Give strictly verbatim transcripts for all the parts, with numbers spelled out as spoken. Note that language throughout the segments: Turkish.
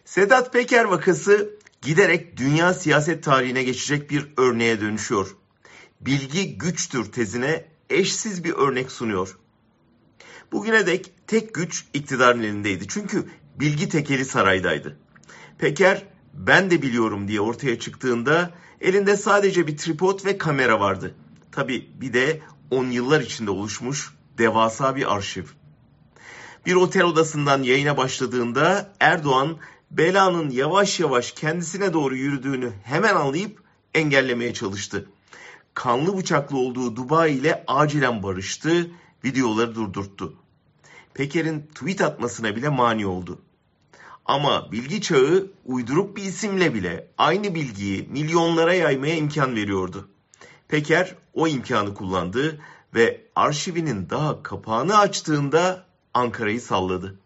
Sedat Peker vakası giderek dünya siyaset tarihine geçecek bir örneğe dönüşüyor. Bilgi güçtür tezine eşsiz bir örnek sunuyor. Bugüne dek tek güç iktidarın elindeydi. Çünkü bilgi tekeli saraydaydı. Peker ben de biliyorum diye ortaya çıktığında elinde sadece bir tripod ve kamera vardı. Tabii bir de on yıllar içinde oluşmuş devasa bir arşiv. Bir otel odasından yayına başladığında Erdoğan belanın yavaş yavaş kendisine doğru yürüdüğünü hemen anlayıp engellemeye çalıştı. Kanlı bıçaklı olduğu Dubai ile acilen barıştı, videoları durdurttu. Peker'in tweet atmasına bile mani oldu. Ama bilgi çağı uyduruk bir isimle bile aynı bilgiyi milyonlara yaymaya imkan veriyordu. Peker o imkanı kullandı ve arşivinin daha kapağını açtığında Ankara'yı salladı.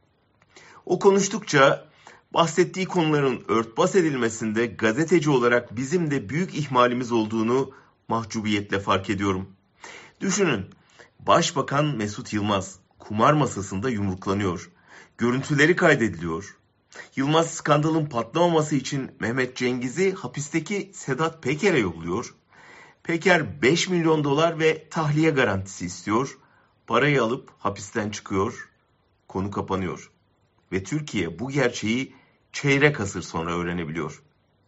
O konuştukça bahsettiği konuların örtbas edilmesinde gazeteci olarak bizim de büyük ihmalimiz olduğunu mahcubiyetle fark ediyorum. Düşünün, Başbakan Mesut Yılmaz kumar masasında yumruklanıyor. Görüntüleri kaydediliyor. Yılmaz skandalın patlamaması için Mehmet Cengiz'i hapisteki Sedat Peker'e yolluyor. Peker beş milyon dolar ve tahliye garantisi istiyor. Parayı alıp hapisten çıkıyor. Konu kapanıyor. Ve Türkiye bu gerçeği çeyrek asır sonra öğrenebiliyor.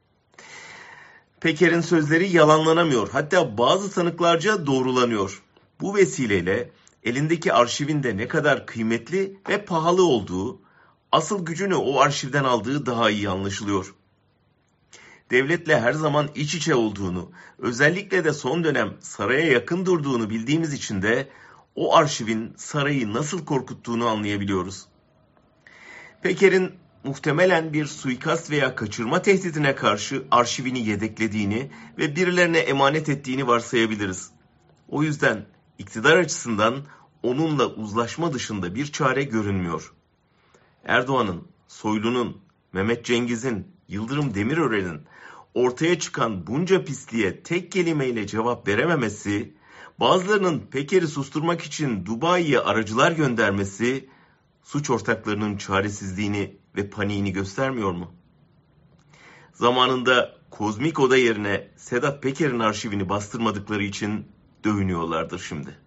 Peker'in sözleri yalanlanamıyor. Hatta bazı tanıklarca doğrulanıyor. Bu vesileyle elindeki arşivin de ne kadar kıymetli ve pahalı olduğu, asıl gücünü o arşivden aldığı daha iyi anlaşılıyor. Devletle her zaman iç içe olduğunu, özellikle de son dönem saraya yakın durduğunu bildiğimiz için de o arşivin sarayı nasıl korkuttuğunu anlayabiliyoruz. Peker'in muhtemelen bir suikast veya kaçırma tehdidine karşı arşivini yedeklediğini ve birilerine emanet ettiğini varsayabiliriz. O yüzden iktidar açısından onunla uzlaşma dışında bir çare görünmüyor. Erdoğan'ın, Soylu'nun, Mehmet Cengiz'in, Yıldırım Demirören'in ortaya çıkan bunca pisliğe tek kelimeyle cevap verememesi, bazılarının Peker'i susturmak için Dubai'ye aracılar göndermesi, suç ortaklarının çaresizliğini ve paniğini göstermiyor mu? Zamanında Kozmik Oda yerine Sedat Peker'in arşivini bastırmadıkları için dövünüyorlardır şimdi.